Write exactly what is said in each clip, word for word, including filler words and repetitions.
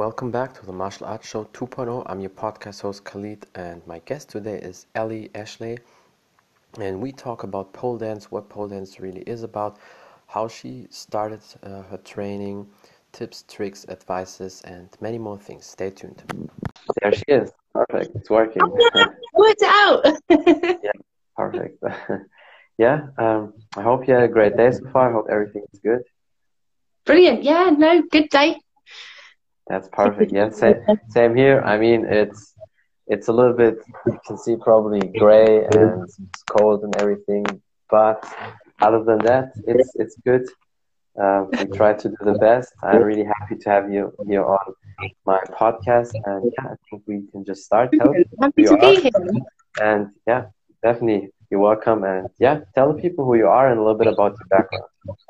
welcome back to the Martial Arts Show 2.0. I'm your podcast host Khalid, and my guest today is Ellie Ashley, and we talk about pole dance, what pole dance really is about, how she started uh, her training, tips, tricks, advices, and many more things. Stay tuned. There she is. Perfect. It's working. Worked out. Yeah, perfect. Yeah, um, I hope you had a great day so far. I hope everything is good. Brilliant. Yeah, no, good day. That's perfect. Yeah, same, same here. I mean, it's it's a little bit, you can see probably gray and it's cold and everything, but other than that, it's it's good. Uh, we try to do the best. I'm really happy to have you here on my podcast, and yeah, I think we can just start. Tell people Happy who to you be are, here. and yeah, definitely you're welcome. And yeah, tell the people who you are and a little bit about your background.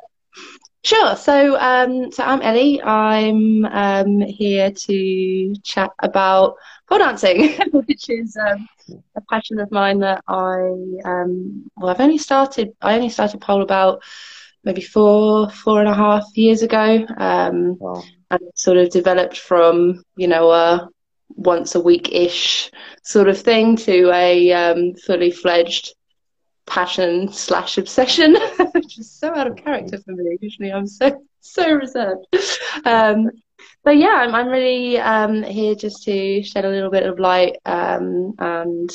Sure. So, um, so I'm Ellie. I'm um, here to chat about pole dancing, which is um, a passion of mine that I um, well, I've only started. I only started pole about maybe four, four and a half years ago, um, Wow. and it sort of developed from you know a once a week ish sort of thing to a um, fully fledged passion slash obsession, which is so out of character for me. Usually I'm so so reserved. Um, but yeah, I'm I'm really um, here just to shed a little bit of light um, and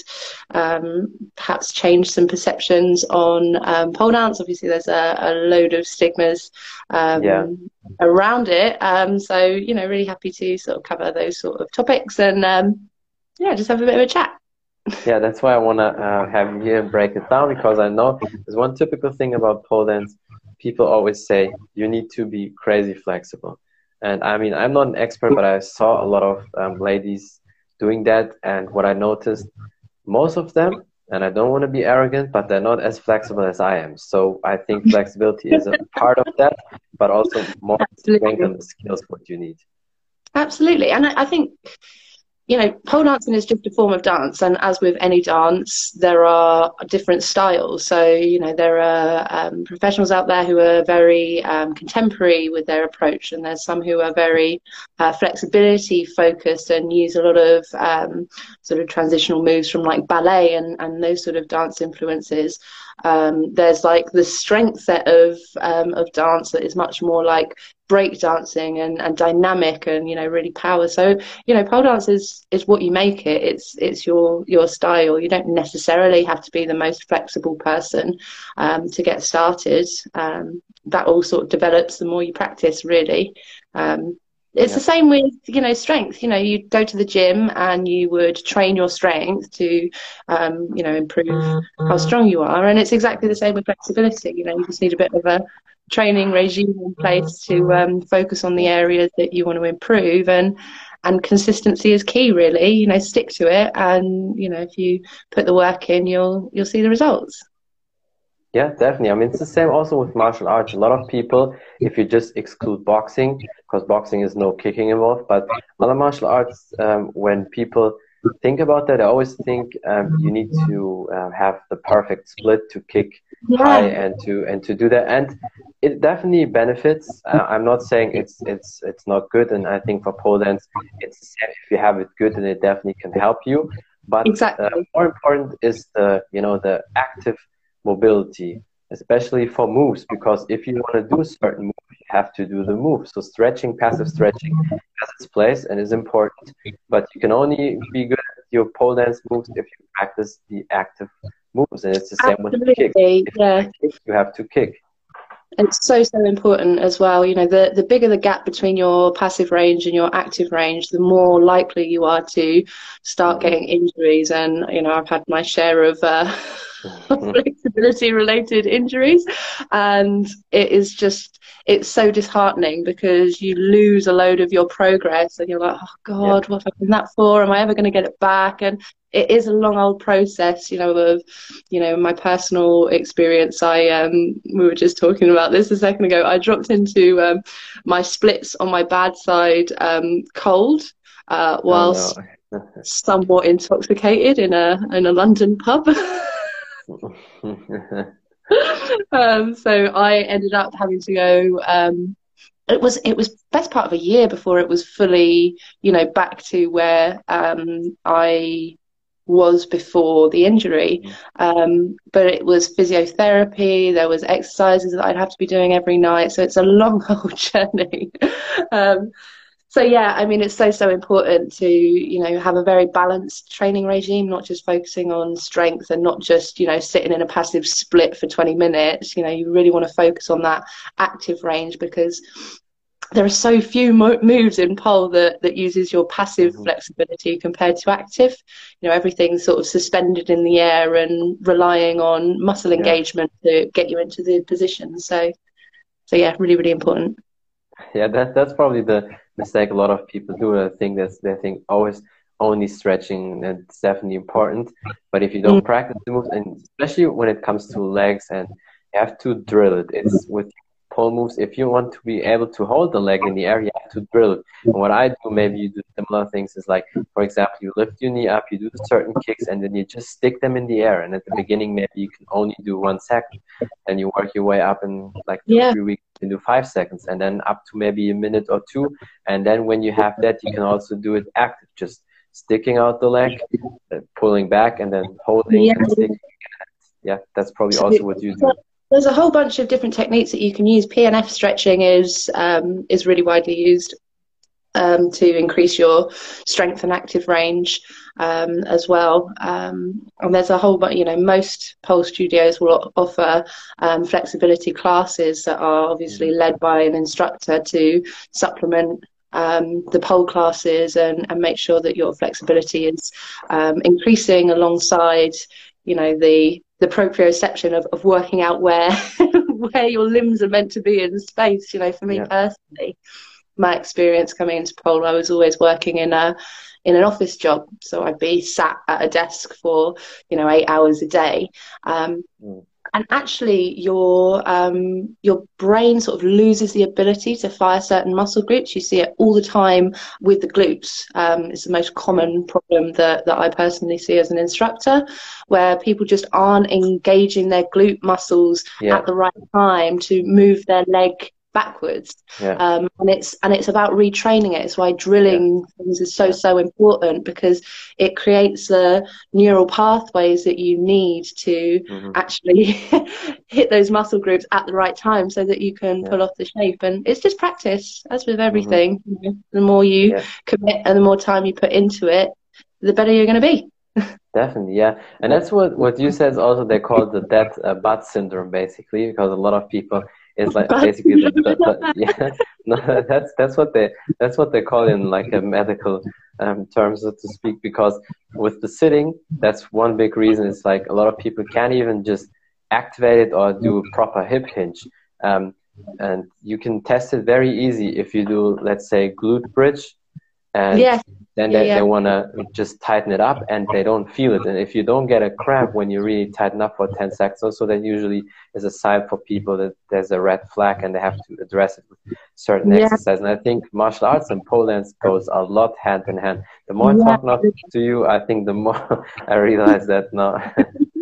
um, perhaps change some perceptions on um, pole dance. Obviously, there's a, a load of stigmas um, Yeah. around it. Um, so you know, really happy to sort of cover those sort of topics and um, yeah, just have a bit of a chat. Yeah, that's why I want to uh, have you here and break it down, because I know there's one typical thing about pole dance. People always say you need to be crazy flexible. And I mean, I'm not an expert, but I saw a lot of um, ladies doing that. And what I noticed, most of them, and I don't want to be arrogant, but they're not as flexible as I am. So I think flexibility is a part of that, but also more strength and the skills what you need. Absolutely. And I, I think, you know, pole dancing is just a form of dance, and as with any dance, there are different styles. So, you know, there are um, professionals out there who are very um, contemporary with their approach, and there's some who are very uh, flexibility focused and use a lot of um, sort of transitional moves from like ballet and, and those sort of dance influences. Um, there's like the strength set of um, of dance that is much more like break dancing and, and dynamic and you know really power. So you know pole dance is is what you make it. It's it's your your style. You don't necessarily have to be the most flexible person um, to get started. Um, that all sort of develops the more you practice, really. Um, it's Yeah. the same with you know strength. You know you go to the gym and you would train your strength to um, you know improve how strong you are, and it's exactly the same with flexibility. You know you just need a bit of a training regime in place to um, focus on the areas that you want to improve, and and consistency is key, really. You know, stick to it, and you know, if you put the work in, you'll you'll see the results. Yeah, definitely. I mean, it's the same also with martial arts. A lot of people, if you just exclude boxing, because boxing is no kicking involved, but other martial arts, um, when people think about that, I always think um, you need to uh, have the perfect split to kick high Yeah, and to and to do that, and it definitely benefits. Uh, I'm not saying it's it's it's not good, and I think for pole dance, it's the same. If you have it good, then it definitely can help you. But exactly. uh, more important is the you know the active mobility, especially for moves, because if you want to do a certain move, you have to do the move. So stretching, passive stretching has its place and is important, but you can only be good at your pole dance moves if you practice the active moves, and it's the same with the kick. Absolutely, If yeah. you kick, you have to kick. It's so, so important as well. You know, the, the bigger the gap between your passive range and your active range, the more likely you are to start getting injuries. And, you know, I've had my share of uh, flexibility related injuries. And it is just, it's so disheartening because you lose a load of your progress and you're like, oh God, Yeah. what have I done that for? Am I ever going to get it back? And it is a long old process, you know, of, you know, my personal experience. I, um, we were just talking about this a second ago. I dropped into um, my splits on my bad side um, cold uh, whilst Oh, no. somewhat intoxicated in a in a London pub. um, so I ended up having to go um, it was it was best part of a year before it was fully, you know, back to where um, I was before the injury. Um, but it was physiotherapy, there was exercises that I'd have to be doing every night. So it's a long, old journey. um, so yeah, I mean, it's so, so important to, you know, have a very balanced training regime, not just focusing on strength and not just, you know, sitting in a passive split for twenty minutes. You know, you really want to focus on that active range, because there are so few mo moves in pole that, that uses your passive mm-hmm. flexibility compared to active. You know, everything's sort of suspended in the air and relying on muscle yeah. engagement to get you into the position. So, so yeah, really, really important. Yeah, that, that's probably the mistake a lot of people do. I think that's, they think always only stretching, and it's definitely important. But if you don't mm. practice the moves, and especially when it comes to legs, and you have to drill it, it's with pole moves, if you want to be able to hold the leg in the air, you have to drill it. And what I do, maybe you do similar things, is like, for example, you lift your knee up, you do certain kicks, and then you just stick them in the air. And at the beginning, maybe you can only do one second, and you work your way up in like two, yeah. three weeks, you can do five seconds, and then up to maybe a minute or two. And then when you have that, you can also do it active, just sticking out the leg, uh, pulling back, and then holding yeah. and sticking. Yeah, that's probably also what you do. There's a whole bunch of different techniques that you can use. P N F stretching is um, is really widely used um, to increase your strength and active range um, as well. Um, and there's a whole bunch, you know, most pole studios will offer um, flexibility classes that are obviously led by an instructor to supplement um, the pole classes and, and make sure that your flexibility is um, increasing alongside, you know, the the proprioception of, of working out where where your limbs are meant to be in space. You know, for me yeah. personally, my experience coming into pole, I was always working in a in an office job, so I'd be sat at a desk for, you know, eight hours a day. Um, mm. And actually, your um, your brain sort of loses the ability to fire certain muscle groups. You see it all the time with the glutes. Um, it's the most common problem that, that I personally see as an instructor, where people just aren't engaging their glute muscles yeah. at the right time to move their leg backwards. Yeah. Um, and it's and it's about retraining it. It's why drilling yeah. things is so yeah. so important, because it creates the neural pathways that you need to mm-hmm. actually hit those muscle groups at the right time, so that you can yeah. pull off the shape. And it's just practice, as with everything. Mm-hmm. You know, the more you yeah. commit and the more time you put into it, the better you're going to be. Definitely, yeah. And that's what what you said. Also, they call it the dead uh, butt syndrome, basically, because a lot of people. It's like basically the, the, the, yeah, no, that's that's what they that's what they call in like a medical um, terms, so to speak. Because with the sitting, that's one big reason. It's like a lot of people can't even just activate it or do a proper hip hinge. Um, and you can test it very easy if you do, let's say, glute bridge, and yeah. then yeah, they, yeah. they want to just tighten it up, and they don't feel it. And if you don't get a cramp when you really tighten up for ten seconds, also that usually is a sign for people that there's a red flag and they have to address it with certain yeah. exercise. And I think martial arts and pole dance goes a lot hand in hand. The more yeah. I talk now to you, I think the more I realize that now.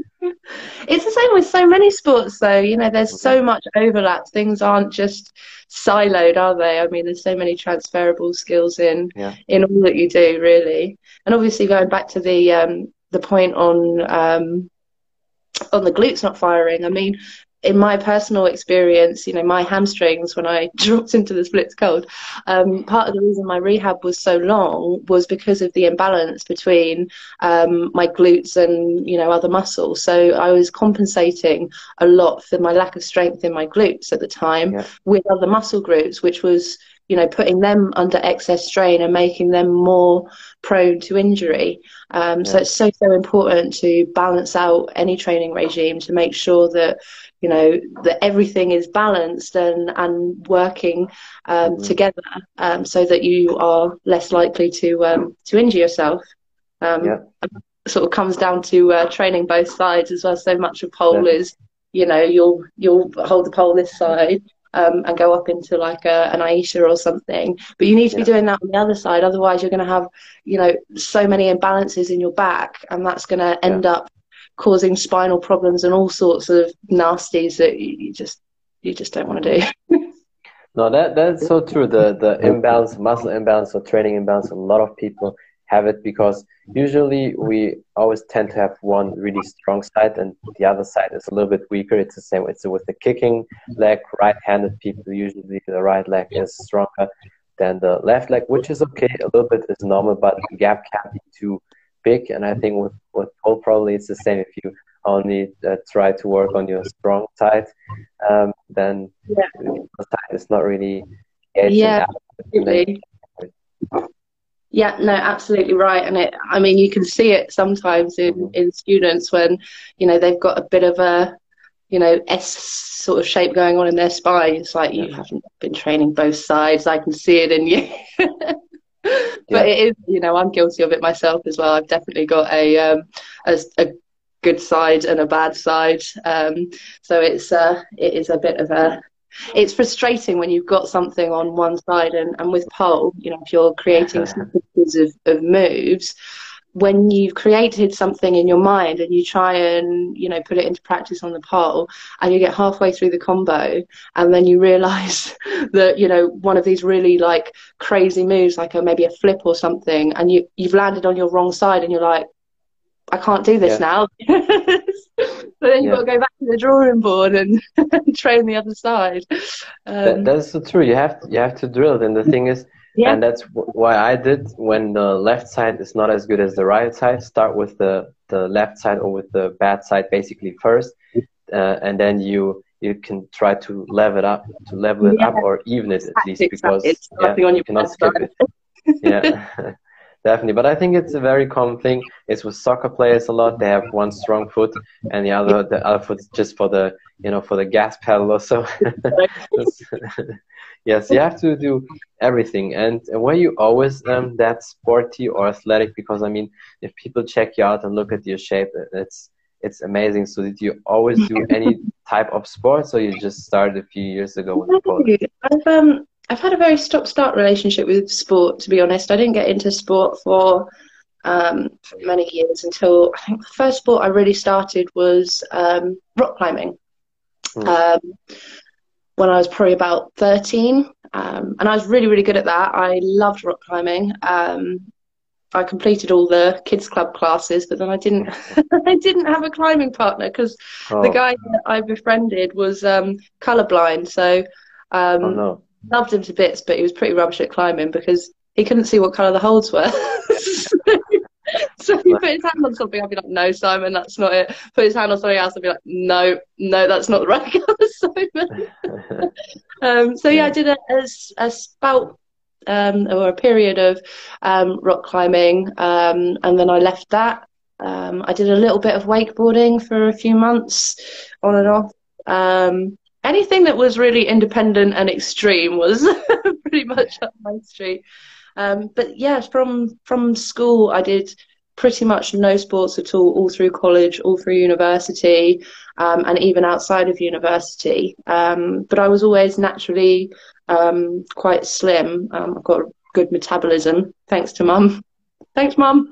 It's the same with so many sports, though. You know, there's so much overlap. Things aren't just siloed, are they? I mean, there's so many transferable skills in yeah. in all that you do, really. And obviously, going back to the um, the point on um, on the glutes not firing. I mean, in my personal experience, you know, my hamstrings, when I dropped into the splits cold, um, part of the reason my rehab was so long was because of the imbalance between um, my glutes and, you know, other muscles. So I was compensating a lot for my lack of strength in my glutes at the time yeah. with other muscle groups, which was, you know, putting them under excess strain and making them more prone to injury. Um, yeah. So it's so, so important to balance out any training regime to make sure that, you know, that everything is balanced and, and working um, mm-hmm. together um, so that you are less likely to um, to injure yourself. Um, yeah. It sort of comes down to uh, training both sides as well. So much of pole yeah. is, you know, you'll you'll hold the pole this side um, and go up into like a, an Aisha or something. But you need to yeah. be doing that on the other side. Otherwise, you're going to have, you know, so many imbalances in your back, and that's going to end yeah. up causing spinal problems and all sorts of nasties that you just you just don't want to do. No, that that's so true. The the imbalance, muscle imbalance or training imbalance, a lot of people have it because usually we always tend to have one really strong side and the other side is a little bit weaker. It's the same. It's with the kicking leg, right-handed people, usually the right leg is stronger than the left leg, which is okay. A little bit is normal, but the gap can't be too big. And I think with, with pole probably it's the same. If you only uh, try to work on your strong side, um, then Yeah. the side is not really engaged Yeah, in that. absolutely. Yeah, no, absolutely right. And it, I mean, you can see it sometimes in, Mhm. in students when, you know, they've got a bit of a, you know, S sort of shape going on in their spine. It's like you Yeah. haven't been training both sides. I can see it in you. Yeah. But it is, you know, I'm guilty of it myself as well. I've definitely got a um, a, a good side and a bad side. Um, so it's uh, it is a bit of a it's frustrating when you've got something on one side and, and with pole, you know, if you're creating sequences of, of moves, when you've created something in your mind and you try and, you know, put it into practice on the pole and you get halfway through the combo and then you realize that, you know, one of these really like crazy moves, like a, maybe a flip or something, and you, you've landed on your wrong side and you're like, I can't do this Yeah. now. So then you've Yeah. got to go back to the drawing board and train the other side. That Um, that's so true. You have to, you have to drill it, and the thing is, yeah, and that's wh- why I did when the left side is not as good as the right side. Start with the the left side or with the bad side basically first, uh, and then you you can try to level it up, to level it yeah, up or even it at least tactics that because is yeah, starting on you your cannot bad skip side. it. Yeah. Definitely, but I think it's a very common thing. It's with soccer players a lot. They have one strong foot, and the other the other foot is just for the you know for the gas pedal or so. That's- yes, you have to do everything. And were you always um, that sporty or athletic? Because I mean, if people check you out and look at your shape, it's it's amazing. So did you always do any type of sports, or you just started a few years ago with the pole? I've um I've had a very stop-start relationship with sport, to be honest. I didn't get into sport for um for many years until I think the first sport I really started was um rock climbing. Hmm. Um, when I was probably about thirteen. Um, and I was really, really good at that. I loved rock climbing. Um, I completed all the kids club classes, but then I didn't I didn't have a climbing partner because the Oh, guy that I befriended was um, colorblind. So oh um, no. loved him to bits, but he was pretty rubbish at climbing because he couldn't see what color the holds were. So if he put his hand on something, I'd be like, no, Simon, that's not it. Put his hand on something else, I'd be like, no, no, that's not the right color, Simon. Um, so yeah, I Yeah. did a, a, a spout um, or a period of um, rock climbing, um, and then I left that. Um, I did a little bit of wakeboarding for a few months, on and off. Um, anything that was really independent and extreme was pretty much up my street. Um, but yeah, from from school, I did pretty much no sports at all, all through college, all through university, um, and even outside of university. Um, but I was always naturally um, quite slim. Um, I've got a good metabolism, thanks to mum. Thanks, mum.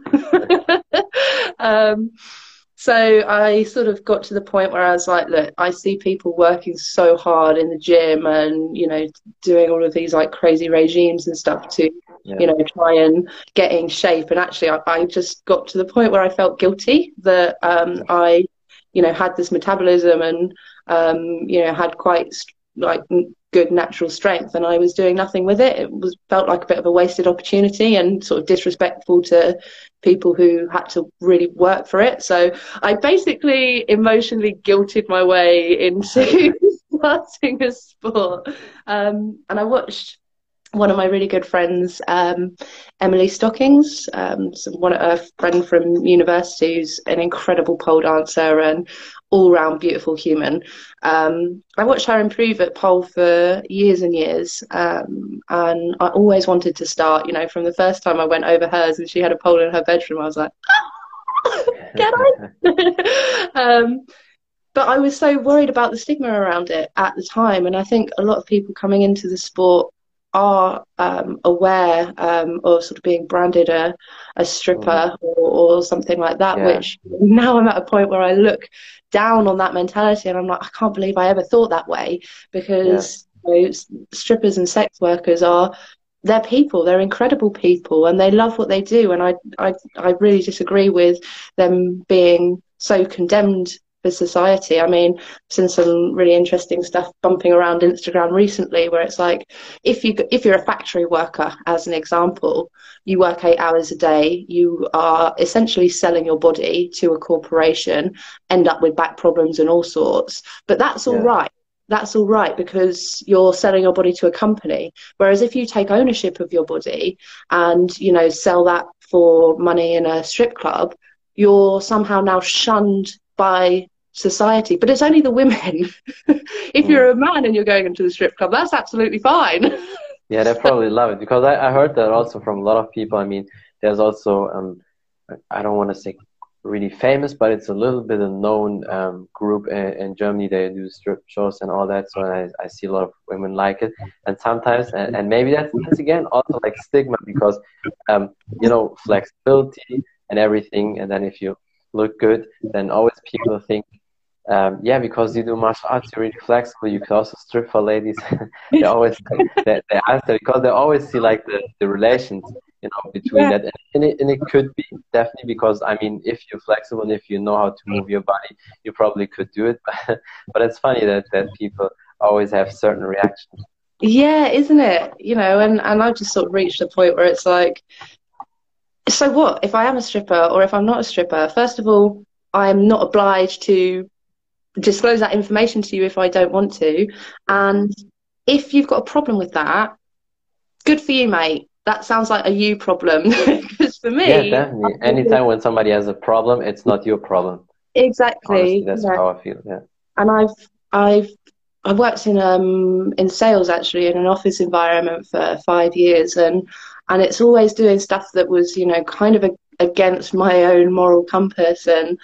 um, so I sort of got to the point where I was like, look, I see people working so hard in the gym and, you know, doing all of these like crazy regimes and stuff to, Yeah. you know, try and get in shape. And actually, I, I just got to the point where I felt guilty that um, I, you know, had this metabolism and, um, you know, had quite like good natural strength, and I was doing nothing with it. It was felt like a bit of a wasted opportunity and sort of disrespectful to people who had to really work for it. So I basically emotionally guilted my way into starting a sport. Um, and I watched one of my really good friends, um, Emily Stockings, um, so one a friend from university who's an incredible pole dancer and all-round beautiful human. Um, I watched her improve at pole for years and years, um, and I always wanted to start. You know, from the first time I went over hers and she had a pole in her bedroom, I was like, oh, get on! um, but I was so worried about the stigma around it at the time, and I think a lot of people coming into the sport are um, aware um, of sort of being branded a, a stripper Mm. or, or something like that, Yeah. which now I'm at a point where I look down on that mentality and I'm like, I can't believe I ever thought that way, because know, strippers and sex workers are, they're people, they're incredible people, and they love what they do. And I, I, I really disagree with them being so condemned for society. I mean, I've seen some really interesting stuff bumping around Instagram recently, where it's like, if you if you're a factory worker, as an example, you work eight hours a day, you are essentially selling your body to a corporation, end up with back problems and all sorts. But that's all Yeah. right. That's all right because you're selling your body to a company. Whereas if you take ownership of your body and, you know, sell that for money in a strip club, you're somehow now shunned by society. But it's only the women. If Mm. you're a man and you're going into the strip club, that's absolutely fine. Yeah, they probably love it because I, I heard that also from a lot of people. I mean, there's also, um, I don't want to say really famous, but it's a little bit a known um, group in, in Germany. They do strip shows and all that. So I, I see a lot of women like it. And sometimes, and, and maybe that's, that's again also like stigma because, um, you know, flexibility and everything. And then if you look good, then always people think, Um, yeah, because you do martial arts, you're really flexible. You can also strip for ladies. They always they, they answer because they always see like the, the relations, you know, between Yeah. that, and it, and it could be definitely because I mean, if you're flexible and if you know how to move your body, you probably could do it. But but it's funny that that people always have certain reactions. Yeah, isn't it? You know, and, and I've just sort of reached a point where it's like, so what? If I am a stripper or if I'm not a stripper, first of all, I'm not obliged to disclose that information to you if I don't want to. And if you've got a problem with that, good for you, mate. That sounds like a you problem. Because for me, Yeah, definitely. Anytime when somebody has a problem, it's not your problem. exactly. Honestly, that's Yeah. how I feel. Yeah. And I've I've I worked in um in sales actually in an office environment for five years, and and it's always doing stuff that was, you know, kind of a, against my own moral compass, and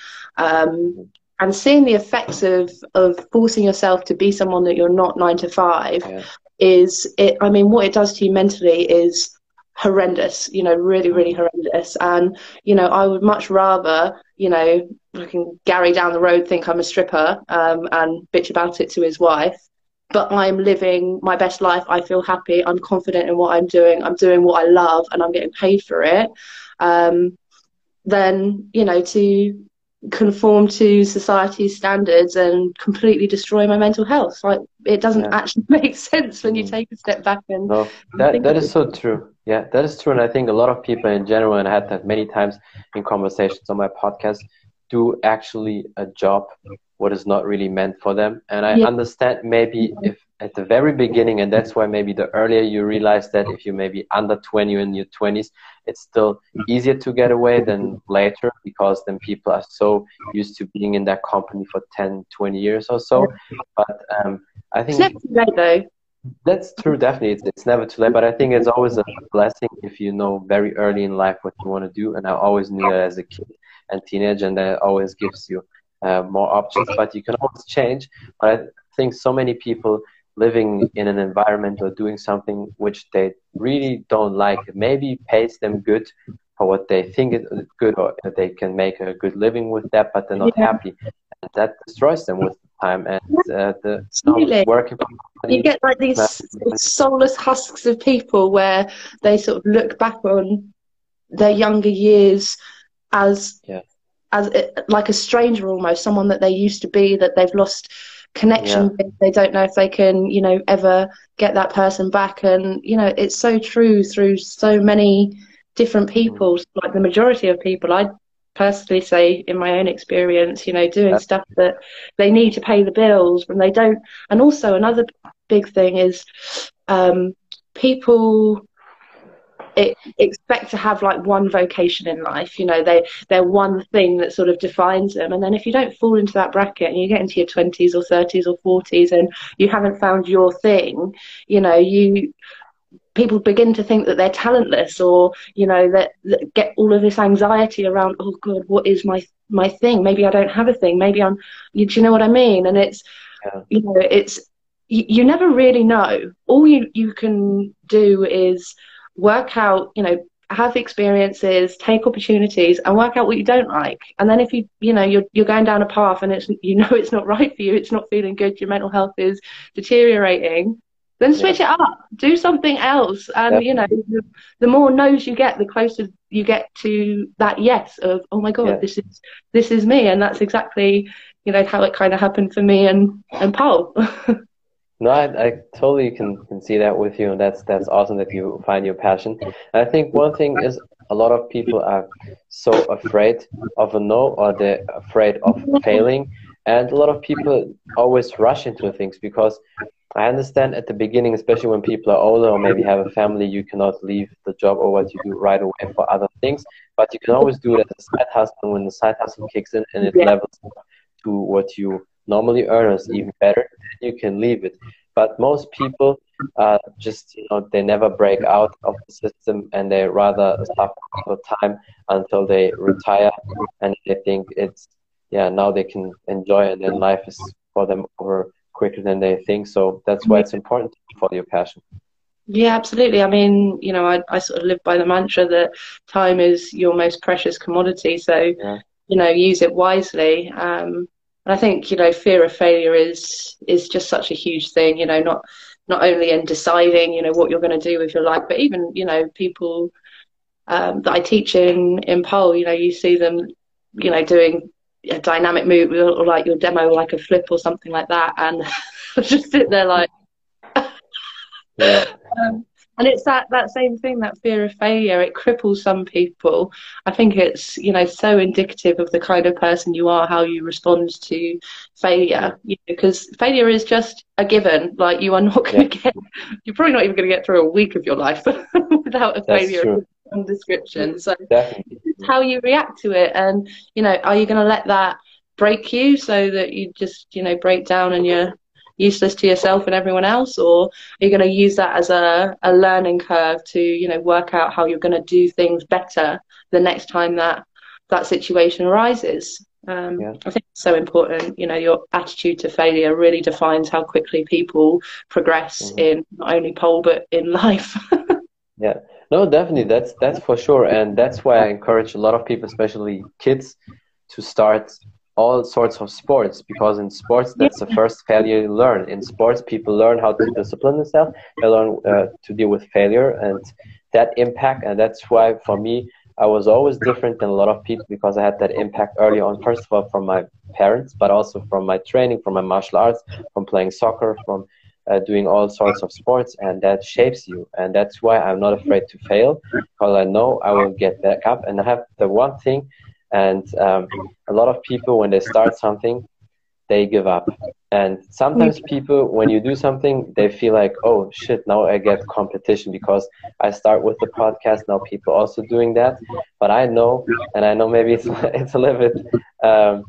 um and seeing the effects of of forcing yourself to be someone that you're not nine to five Yeah. is it. I mean, what it does to you mentally is horrendous. You know, really, really Mhm. horrendous. And you know, I would much rather, you know, looking Gary down the road think I'm a stripper um, and bitch about it to his wife, but I'm living my best life. I feel happy. I'm confident in what I'm doing. I'm doing what I love, and I'm getting paid for it. Um, then you know, to conform to society's standards and completely destroy my mental health. Like it doesn't Yeah. actually make sense when you Mhm. take a step back and, No, and that think that of is it. so true. Yeah, that is true. And I think a lot of people in general, and I had that many times in conversations on my podcast, do actually a job what is not really meant for them. And I Yeah, understand maybe if at the very beginning, and that's why maybe the earlier you realize that if you maybe under twenty or in your twenties, it's still easier to get away than later because then people are so used to being in that company for ten, twenty years or so. But um, I it's think never too late though. that's true, definitely. It's, it's never too late, but I think it's always a blessing if you know very early in life what you want to do. And I always knew that as a kid and teenager, and that always gives you uh, more options, but you can always change. But I think so many people living in an environment or doing something which they really don't like, maybe pays them good for what they think is good, or they can make a good living with that, but they're not Yeah, happy. And that destroys them with time. And uh, the you know, absolutely. working for You companies, get like these soulless husks of people where they sort of look back on their younger years as yeah. as like a stranger almost, someone that they used to be that they've lost connection Yeah. with. They don't know if they can, you know, ever get that person back. And you know, it's so true through so many different people. Like the majority of people, I personally say in my own experience, you know, doing Yeah. stuff that they need to pay the bills when they don't. And also another big thing is um, people it, expect to have like one vocation in life. You know, they they're one thing that sort of defines them. And then if you don't fall into that bracket and you get into your twenties or thirties or forties and you haven't found your thing, you know, you people begin to think that they're talentless, or you know that, that get all of this anxiety around, oh god, what is my my thing? Maybe I don't have a thing. Maybe I'm, you, do you know what I mean? And it's, Yeah. you know, it's you, you never really know. All you you can do is work out, you know, have experiences, take opportunities, and work out what you don't like. And then if you you know you're you're going down a path and it's, you know, it's not right for you, it's not feeling good, your mental health is deteriorating, then switch yeah. it up, do something else. And, Definitely. you know, the, the more no's you get, the closer you get to that yes of, oh my God, yeah. this is, this is me. And that's exactly, you know, how it kind of happened for me and, and Paul. No, I, I totally can, can see that with you, and that's that's awesome that you find your passion. And I think one thing is a lot of people are so afraid of a no, or they're afraid of failing, and a lot of people always rush into things, because I understand at the beginning, especially when people are older or maybe have a family, you cannot leave the job or what you do right away for other things, but you can always do it as a side hustle. When the side hustle kicks in and it yeah. levels up to what you normally earn, or is even better, you can leave it. But most people uh, just, you know, they never break out of the system, and they rather suffer for time until they retire, and they think it's, yeah, now they can enjoy it, and then life is for them over quicker than they think. So that's why it's important to follow your passion. Yeah, absolutely. I mean, you know, I, I sort of live by the mantra that time is your most precious commodity. So, yeah. you know, use it wisely. Um, And I think, you know, fear of failure is is just such a huge thing, you know, not not only in deciding, you know, what you're going to do with your life, but even, you know, people um, that I teach in, in pole, you know, you see them, you know, doing a dynamic move, or like your demo, like a flip or something like that. And just sit there like, yeah. um, and it's that, that same thing, that fear of failure. It cripples some people. I think it's, you know, so indicative of the kind of person you are, how you respond to failure. You know, because failure is just a given. Like, you are not going to yeah. get, you're probably not even going to get through a week of your life without a That's failure true. of description. So Definitely. it's how you react to it. And, you know, are you going to let that break you so that you just, you know, break down and you're useless to yourself and everyone else, or are you going to use that as a, a learning curve to, you know, work out how you're going to do things better the next time that that situation arises? Um, yeah. I think it's so important. You know, your attitude to failure really defines how quickly people progress mm-hmm. in not only pole but in life. Yeah, no, definitely, that's that's for sure, and that's why I encourage a lot of people, especially kids, to start all sorts of sports, because in sports, that's the first failure you learn. In sports, people learn how to discipline themselves, they learn uh, to deal with failure and that impact. And that's why, for me, I was always different than a lot of people, because I had that impact early on, first of all from my parents, but also from my training, from my martial arts, from playing soccer, from uh, doing all sorts of sports, and that shapes you. And that's why I'm not afraid to fail, because I know I will get back up. And I have the one thing, and um, a lot of people, when they start something, they give up. And sometimes people, when you do something, they feel like, oh shit, now I get competition because I start with the podcast, now people also doing that. But I know, and I know maybe it's, it's a little bit um,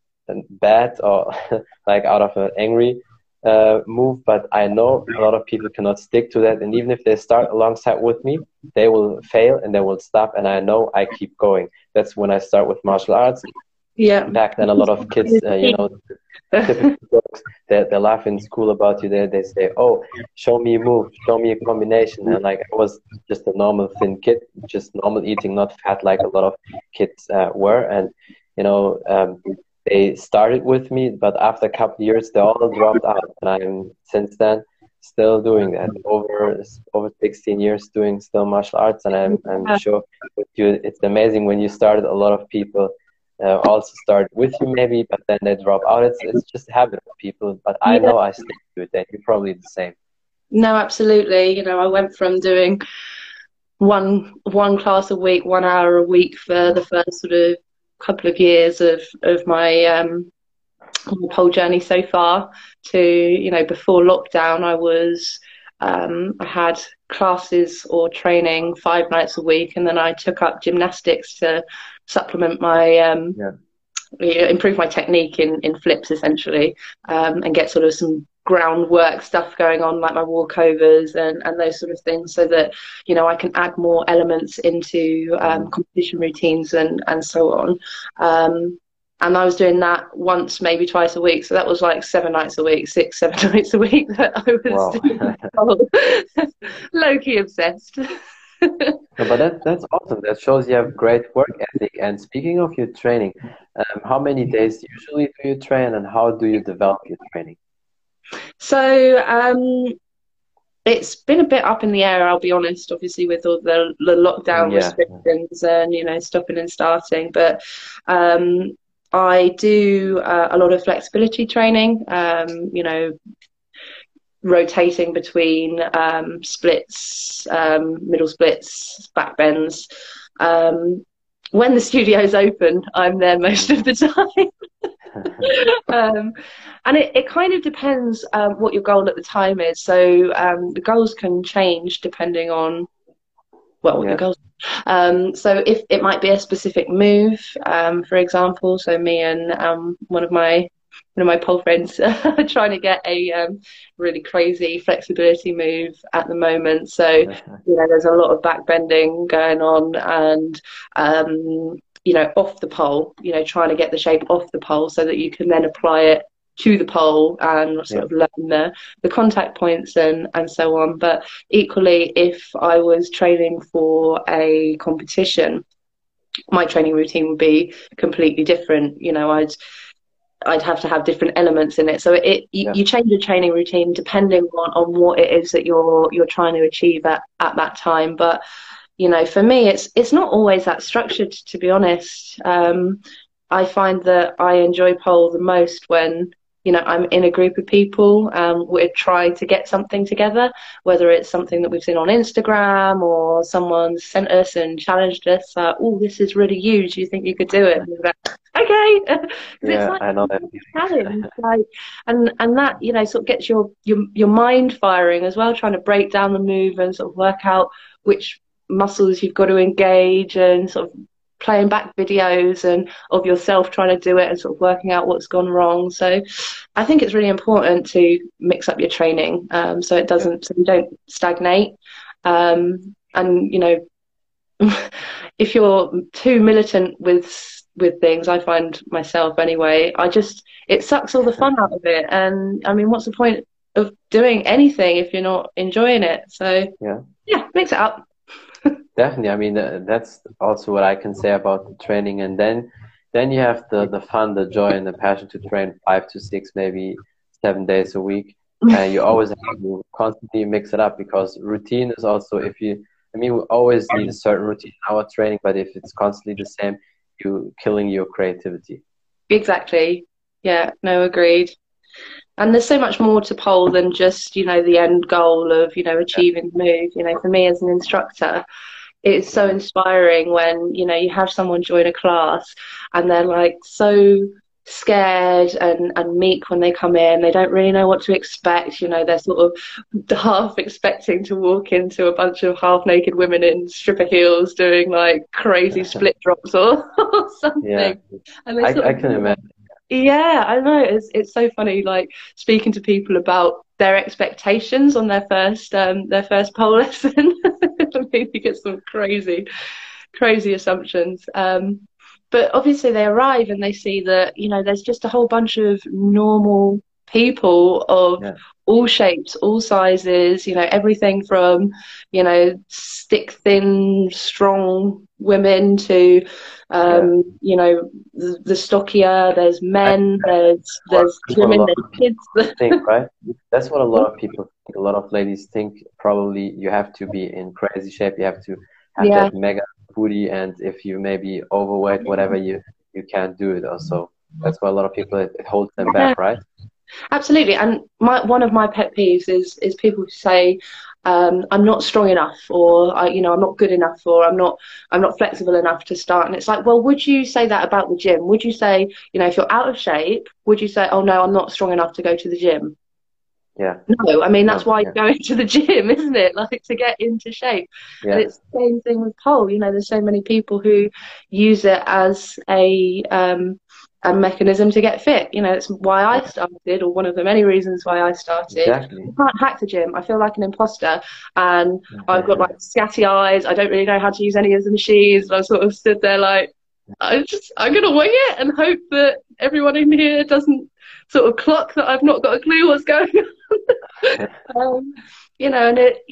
bad, or like out of an angry uh, move, but I know a lot of people cannot stick to that. And even if they start alongside with me, they will fail and they will stop. And I know I keep going. That's when I start with martial arts. Yeah. Back then, a lot of kids, uh, you know, typical jokes, they, they laugh in school about you. They, they say, oh, show me a move, show me a combination. And like, I was just a normal thin kid, just normal eating, not fat like a lot of kids uh, were. And, you know, um, they started with me, but after a couple of years, they all dropped out. And I'm, since then, still doing that. Over over sixteen years doing still martial arts. And I'm, I'm sure with you, it's amazing when you started, a lot of people Uh, also start with you maybe, but then they drop out. It's it's just a habit of people, but I yeah. know I stick to it, and you're probably the same. No, absolutely. You know, I went from doing one one class a week, one hour a week for the first sort of couple of years of of my um pole journey so far, to, you know, before lockdown, I was um I had classes or training five nights a week, and then I took up gymnastics to supplement my um yeah. improve my technique in in flips essentially, um and get sort of some groundwork stuff going on, like my walkovers and and those sort of things, so that, you know, I can add more elements into um competition routines and and so on. um And I was doing that once, maybe twice a week. So that was like seven nights a week, six, seven nights a week that I was wow. low-key obsessed. No, but that, that's awesome. That shows you have great work ethic. And speaking of your training, um, how many days usually do you train, and how do you develop your training? So um, it's been a bit up in the air, I'll be honest, obviously with all the, the lockdown Yeah. restrictions and, you know, stopping and starting. But um, I do uh, a lot of flexibility training, um, you know, rotating between um, splits, um, middle splits, back bends. Um, when the studio's open, I'm there most of the time. um, and it, it kind of depends um, what your goal at the time is. So um, the goals can change depending on, well, what Yeah. your goals are. Um, so if it might be a specific move, um, for example, so me and um, one of my one of my pole friends are trying to get a um, really crazy flexibility move at the moment. So, you know, there's a lot of back bending going on and, um, you know, off the pole, you know, trying to get the shape off the pole so that you can then apply it to the pole and sort Yeah. of learn the, the contact points and, and so on. But equally, if I was training for a competition, my training routine would be completely different. You know, I'd I'd have to have different elements in it. So it you, Yeah. you change your training routine depending on, on what it is that you're you're trying to achieve at, at that time. But you know, for me, it's it's not always that structured, to be honest. Um, I find that I enjoy pole the most when, you know, I'm in a group of people, um, we're trying to get something together, whether it's something that we've seen on Instagram or someone sent us and challenged us, uh, oh, this is really you, do you think you could do it? And we're like, okay. Yeah, it's like I know that. challenge, like, and and that, you know, sort of gets your, your your mind firing as well, trying to break down the move and sort of work out which muscles you've got to engage and sort of playing back videos and of yourself trying to do it and sort of working out what's gone wrong. So I think it's really important to mix up your training, um, so it doesn't, so you don't stagnate. Um, and you know, if you're too militant with with things, I find myself anyway, I just, it sucks all the fun out of it. And I mean, what's the point of doing anything if you're not enjoying it? So Yeah. yeah, mix it up. Definitely. I mean, uh, that's also what I can say about the training. And then, then you have the, the fun, the joy, and the passion to train five to six, maybe seven days a week. And you always have to constantly mix it up, because routine is also, if you, I mean, we always need a certain routine in our training, but if it's constantly the same, you're killing your creativity. Exactly. Yeah, no, agreed. And there's so much more to pole than just, you know, the end goal of, you know, achieving the move. You know, for me as an instructor, it's so inspiring when, you know, you have someone join a class and they're like so scared and, and meek when they come in. They don't really know what to expect. You know, they're sort of half expecting to walk into a bunch of half naked women in stripper heels doing like crazy split drops or, or something. Yeah, and they I, sort I of, can imagine. Yeah, I know. It's it's so funny, like speaking to people about their expectations on their first um their first pole lesson. Maybe you get some crazy, crazy assumptions. Um, but obviously they arrive and they see that, you know, there's just a whole bunch of normal people of Yeah. all shapes, all sizes, you know, everything from, you know, stick thin, strong women to, um, Yeah. you know, the, the stockier, there's men, there's, there's That's what a women, lot there's of people kids. think, right? That's what a lot of people think. A lot of ladies think probably you have to be in crazy shape, you have to have Yeah. that mega booty, and if you may be overweight, whatever, you you can't do it. Also, that's why a lot of people, it, it holds them Yeah. back, right? Absolutely. And my one of my pet peeves is is people who say, um, I'm not strong enough, or I, you know, I'm not good enough, or I'm not I'm not flexible enough to start. And it's like, well, would you say that about the gym? Would you say, you know, if you're out of shape, would you say, oh no, I'm not strong enough to go to the gym? Yeah. No, I mean, that's No, why yeah. you're going to the gym, isn't it? Like, to get into shape. Yeah. And it's the same thing with pole. You know, there's so many people who use it as a um, a mechanism to get fit. You know, it's why I started, or one of the many reasons why I started. Exactly. I can't hack the gym. I feel like an imposter, and I've got like scatty eyes. I don't really know how to use any of the machines. And I sort of stood there like, I just, I'm gonna wing it and hope that everyone in here doesn't sort of clock that I've not got a clue what's going on. um, you know, and it,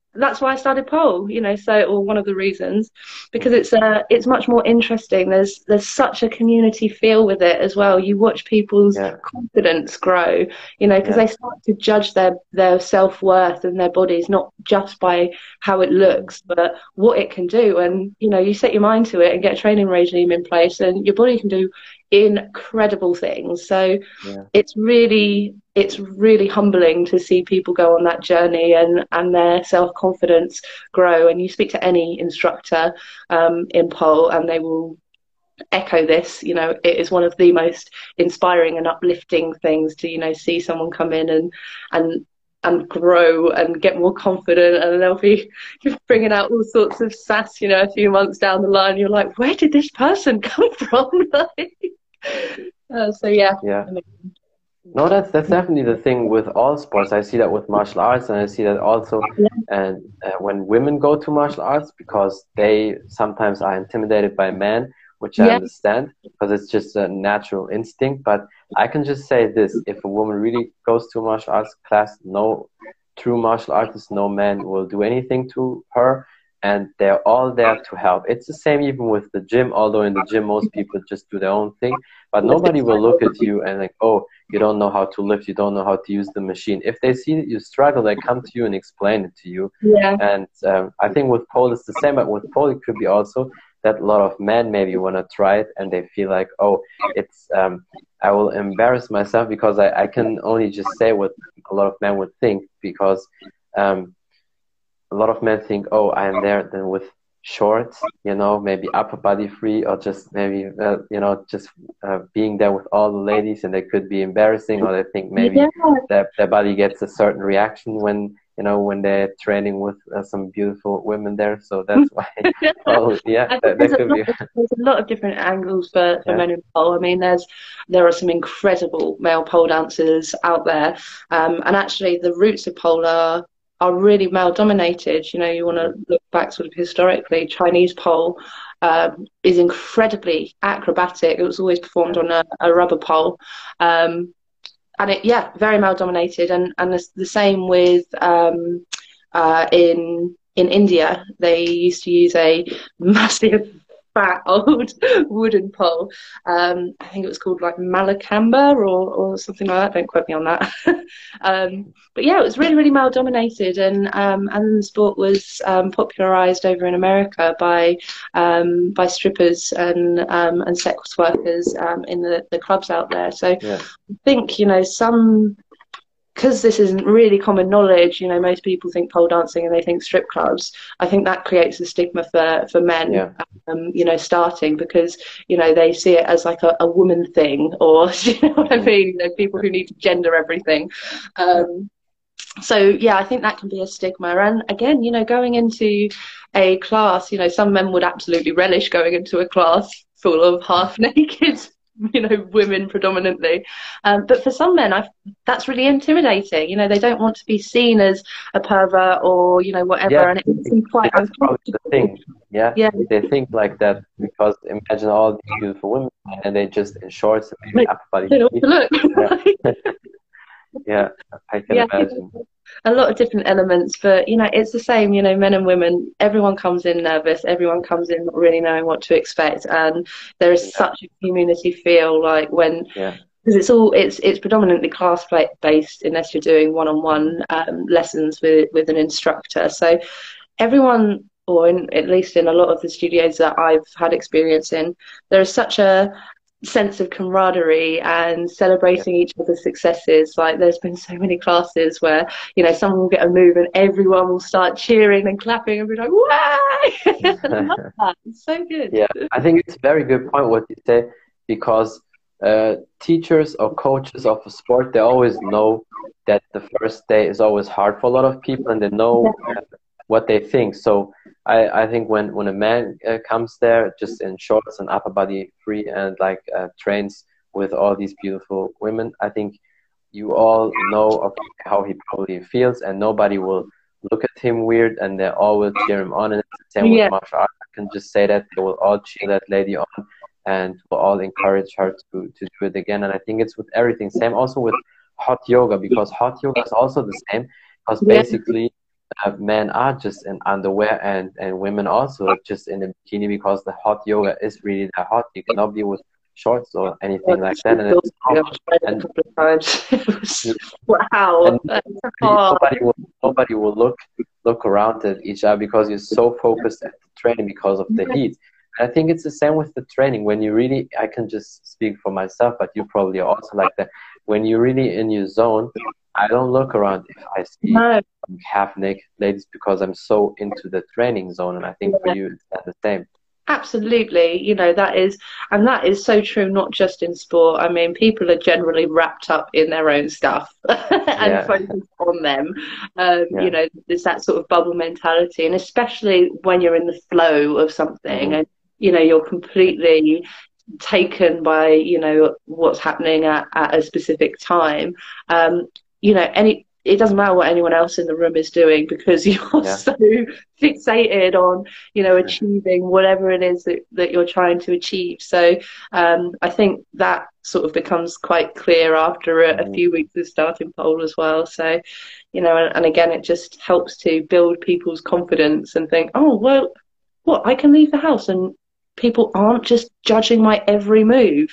that's why I started pole, you know, so, or one of the reasons, because it's uh it's much more interesting. There's there's such a community feel with it as well. You watch people's Yeah. confidence grow, you know, because Yeah. they start to judge their their self-worth and their bodies not just by how it looks, but what it can do. And you know, you set your mind to it and get a training regime in place, and your body can do incredible things. So Yeah. it's really it's really humbling to see people go on that journey and and their self-confidence grow. And you speak to any instructor um, in pole and they will echo this. You know, it is one of the most inspiring and uplifting things to, you know, see someone come in and and and grow and get more confident, and they'll be bringing out all sorts of sass, you know, a few months down the line. You're like, where did this person come from? uh, so yeah. Yeah. No, that's that's definitely the thing with all sports. I see that with martial arts, and I see that also, Yeah. and uh, when women go to martial arts, because they sometimes are intimidated by men, which I Yeah. understand, because it's just a natural instinct. But I can just say this: if a woman really goes to a martial arts class, no true martial artist, no man will do anything to her, and they're all there to help. It's the same even with the gym, although in the gym most people just do their own thing, but nobody will look at you and like, oh, you don't know how to lift, you don't know how to use the machine. If they see that you struggle, they come to you and explain it to you. Yeah. And um, I think with pole it's the same, but with pole it could be also that a lot of men maybe want to try it and they feel like, oh, it's um, I will embarrass myself, because I, I can only just say what a lot of men would think, because um, a lot of men think, oh, I am there then with shorts, you know, maybe upper body free, or just maybe, uh, you know, just uh, being there with all the ladies, and they could be embarrassing, or they think maybe Yeah. their, their body gets a certain reaction when, you know, when they're training with uh, some beautiful women there. So that's why, oh, yeah, I think that, there's, that a could lot be, of, there's a lot of different angles for, for yeah, men in pole. I mean, there's there are some incredible male pole dancers out there, um, and actually the roots of pole are are really male dominated. You know, you want to look back sort of historically. Chinese pole um, is incredibly acrobatic. It was always performed yeah, on a, a rubber pole. Um, and it, yeah, very male dominated, and and it's the same with um, uh, in in India. They used to use a massive fat old wooden pole. Um, I think it was called like Malakamba or or something like that. Don't quote me on that. um, but yeah, it was really really male dominated, and um, and the sport was um, popularized over in America by um, by strippers and um, and sex workers um, in the, the clubs out there. So yeah, I think, you know, some, because this isn't really common knowledge, you know, most people think pole dancing and they think strip clubs. I think that creates a stigma for, for men, yeah, um, you know, starting, because, you know, they see it as like a, a woman thing, or, you know what I mean? You know, people who need to gender everything. Um, so, yeah, I think that can be a stigma. And again, you know, going into a class, you know, some men would absolutely relish going into a class full of half naked, you know, women predominantly. Um, but for some men, I've, that's really intimidating. You know, they don't want to be seen as a pervert or, you know, whatever. yeah. And it makes them quite That's probably the uncomfortable. thing. Yeah, Yeah. they think like that, because imagine all these beautiful women and they just in shorts and maybe Like, upper body they don't free. want to Yeah. look. Yeah, I can Yeah. imagine. A lot of different elements, but you know, it's the same, you know, men and women, everyone comes in nervous, everyone comes in not really knowing what to expect, and there is Yeah, such a community feel, like when, yeah, because it's all it's it's predominantly class play based, unless you're doing one-on-one um, lessons with with an instructor. So everyone, or in, at least in a lot of the studios that I've had experience in, there is such a sense of camaraderie and yeah. celebrating each other's successes. Like, there's been so many classes where, you know, someone will get a move and everyone will start cheering and clapping and be like, "Wow!" I love that. It's so good. Yeah, I think it's a very good point what you say, because uh, teachers or coaches of a sport, they always know that the first day is always hard for a lot of people, and they know uh, what they think. So I, I think when, when a man uh, comes there just in shorts and upper body free and like uh, trains with all these beautiful women, I think you all know okay, how he probably feels, and nobody will look at him weird, and they all will cheer him on. And it's the same with Yeah. martial arts. I can just say that they will all cheer that lady on, and will all encourage her to, to do it again. And I think it's with everything. Same also with hot yoga, because hot yoga is also the same, because Yeah. basically uh, men are just in underwear and, and women also are just in a bikini because the hot yoga is really that hot. You cannot be with shorts or anything like that. And it's I've tried it a and couple of times. It was, wow. and nobody will nobody will look look around at each other because you're so focused at the training because of the heat. And I think it's the same with the training. When you really, I can just speak for myself, but you probably are also like that. When you're really in your zone, I don't look around if I see No. half naked ladies because I'm so into the training zone. And I think for you, it's the same. Absolutely, you know, that is, and that is so true, not just in sport. I mean, people are generally wrapped up in their own stuff and Yeah. focused on them. Um, Yeah. You know, there's that sort of bubble mentality, and especially when you're in the flow of something Mm-hmm. and, you know, you're completely taken by, you know, what's happening at, at a specific time. Um, you know, any it doesn't matter what anyone else in the room is doing because you're Yeah. so fixated on, you know, achieving whatever it is that, that you're trying to achieve. So um, I think that sort of becomes quite clear after a, a few weeks of starting pole as well. So, you know, and, and again, it just helps to build people's confidence and think, oh, well, what, I can leave the house and people aren't just judging my every move.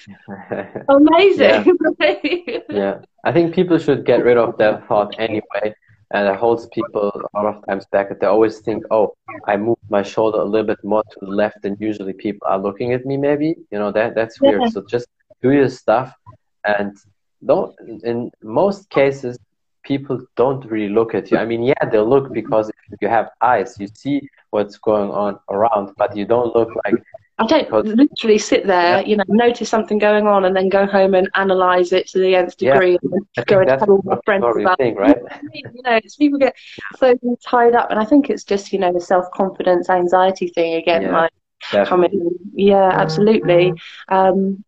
Amazing. Yeah. Yeah. I think people should get rid of that thought anyway. And it holds people a lot of times back. They always think, oh, I moved my shoulder a little bit more to the left than usually people are looking at me, maybe. You know, that that's weird. Yeah. So just do your stuff. And don't, in most cases, people don't really look at you. I mean, yeah, they'll look because if you have eyes, you see what's going on around, but you don't look like I don't literally sit there, you know, notice something going on and then go home and analyse it to the nth degree yeah, and go and tell all my friends about it. Right? You know, it's people get so tied up, and I think it's just, you know, the self-confidence, anxiety thing again, yeah, like definitely. coming. Yeah, absolutely. Um,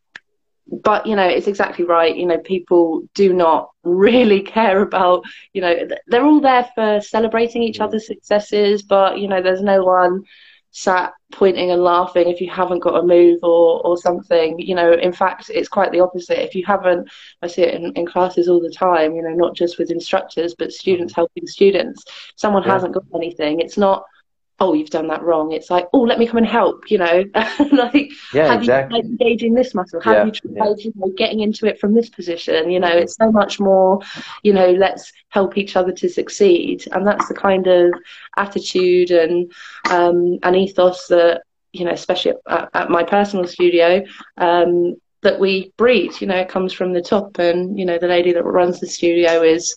but, you know, it's exactly right. You know, people do not really care about, you know, they're all there for celebrating each mm. other's successes, but, you know, there's no one sat pointing and laughing if you haven't got a move or or something. You know, in fact, it's quite the opposite. If you haven't, I see it in, in classes all the time, you know, not just with instructors but students helping students. If someone yeah. hasn't got anything, it's not, oh, you've done that wrong. It's like, oh, let me come and help, you know. Like, yeah, have exactly. you tried engaging this muscle? Have yeah, you tried yeah. you know, getting into it from this position? You know, it's so much more, you know, let's help each other to succeed. And that's the kind of attitude and um, and ethos that, you know, especially at, at my personal studio, um, that we breed. You know, it comes from the top. And, you know, the lady that runs the studio is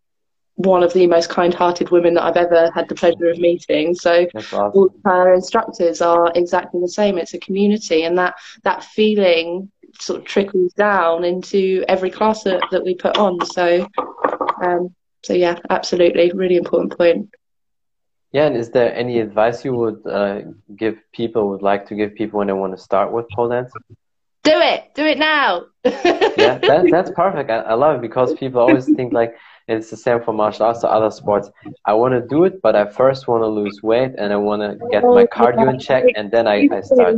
one of the most kind-hearted women that I've ever had the pleasure of meeting. So awesome. All her instructors are exactly the same. It's a community, and that that feeling sort of trickles down into every class that, that we put on. So um so yeah, absolutely, really important point. Yeah, and is there any advice you would uh, give people, would like to give people when they want to start with pole dance? Do it! Do it now! Yeah, that, that's perfect. I, I love it because people always think like, it's the same for martial arts or other sports. I want to do it, but I first want to lose weight and I want to get my cardio in check, and then I, I start.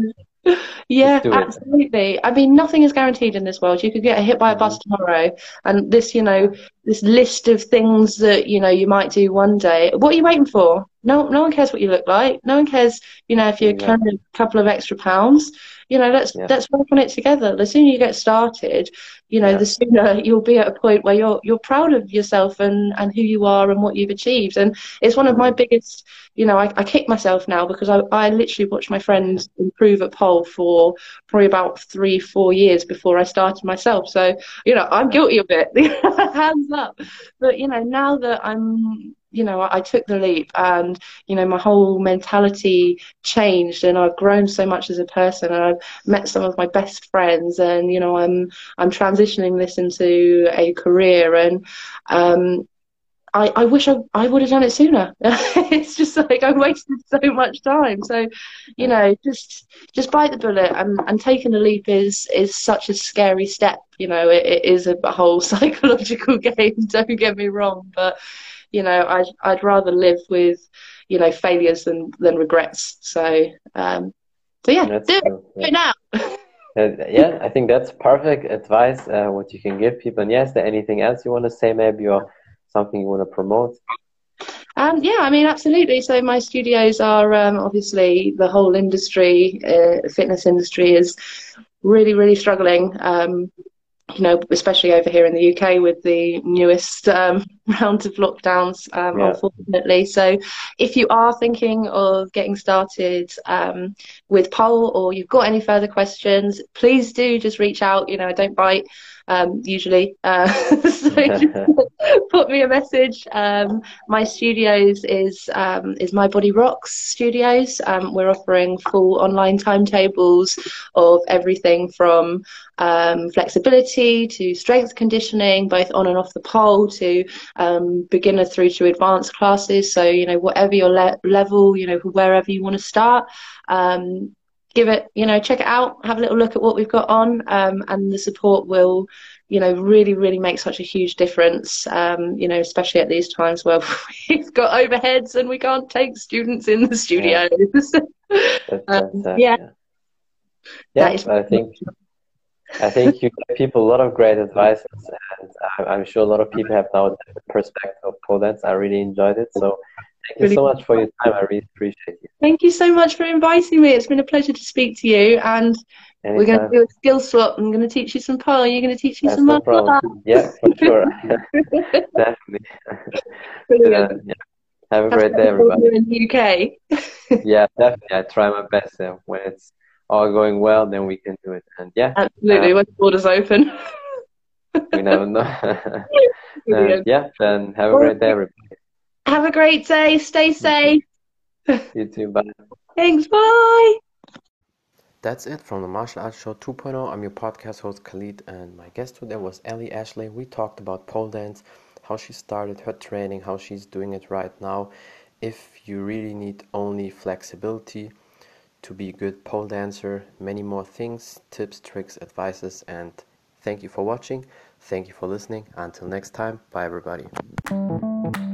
Yeah, absolutely. I mean, nothing is guaranteed in this world. You could get hit by a bus tomorrow, and this, you know, this list of things that, you know, you might do one day. What are you waiting for? No, no one cares what you look like. No one cares, you know, if you're Yeah. carrying a couple of extra pounds. You know, let's Yeah. let's work on it together. The sooner you get started, you know, Yeah. the sooner you'll be at a point where you're you're proud of yourself and, and who you are and what you've achieved. And it's one of my biggest, you know, I, I kick myself now because I, I literally watched my friends improve at pole for probably about three, four years before I started myself. So, you know, I'm guilty of it. Hands up. But, you know, now that I'm, you know, I, I took the leap and, you know, my whole mentality changed and I've grown so much as a person and I've met some of my best friends and, you know, I'm, I'm transitioning this into a career and, um, I, I wish I, I would have done it sooner. It's just like I wasted so much time. So, you know, just just bite the bullet and, and taking a leap is is such a scary step. You know, it, it is a whole psychological game. Don't get me wrong, but you know, I'd I'd rather live with, you know, failures than than regrets. So, um, so yeah, That's do it, true. do it now. Uh, yeah, I think that's perfect advice. Uh, what you can give people. And yes, is there anything else you want to say, maybe, or something you want to promote? Um, yeah, I mean, absolutely. So my studios are um, obviously the whole industry, uh, fitness industry is really, really struggling. Um, you know, especially over here in the U K with the newest um, round of lockdowns, um, Yeah. unfortunately. So if you are thinking of getting started um, with pole, or you've got any further questions, please do just reach out. You know, I don't bite um, usually. Uh, so just put me a message. Um, my studios is um, is My Body Rocks Studios. Um, we're offering full online timetables of everything from um, flexibility to strength conditioning, both on and off the pole, to um, beginner through to advanced classes. So, you know, whatever your le- level, you know, wherever you want to start, um, give it, you know, check it out, have a little look at what we've got on, um, and the support will, you know, really, really make such a huge difference, um, you know, especially at these times where we've got overheads and we can't take students in the studios. Yeah. That's, um, that's, uh, yeah. yeah. That Yeah, is I think I think you give people a lot of great advice, and I- I'm sure a lot of people have now a different perspective of pole dance. I really enjoyed it. So thank you really. so much for your time. I really appreciate you. Thank you so much for inviting me. It's been a pleasure to speak to you, and we're going to Anytime. do a skill swap. I'm going to teach you some pole. You're going to teach me That's some no martial problem. arts. Yeah, for sure. Definitely. Uh, Brilliant. yeah. Have a Have great fun day, here everybody. in the U K. Yeah, definitely. I try my best. Uh, when it's all going well, then we can do it. And yeah, Absolutely, um, when the borders open. we never know. And Brilliant. yeah, then have a Well, great day, everybody. have a great day. Stay You too. safe. You too. Bye. Thanks. Bye. That's it from the Martial Arts Show 2.0. I'm your podcast host Khalid, and my guest today was Ellie Ashley. We talked about pole dance, how she started her training, how she's doing it right now. If you really need only flexibility to be a good pole dancer, many more things, tips, tricks, advices, and thank you for watching. Thank you for listening. Until next time, bye everybody.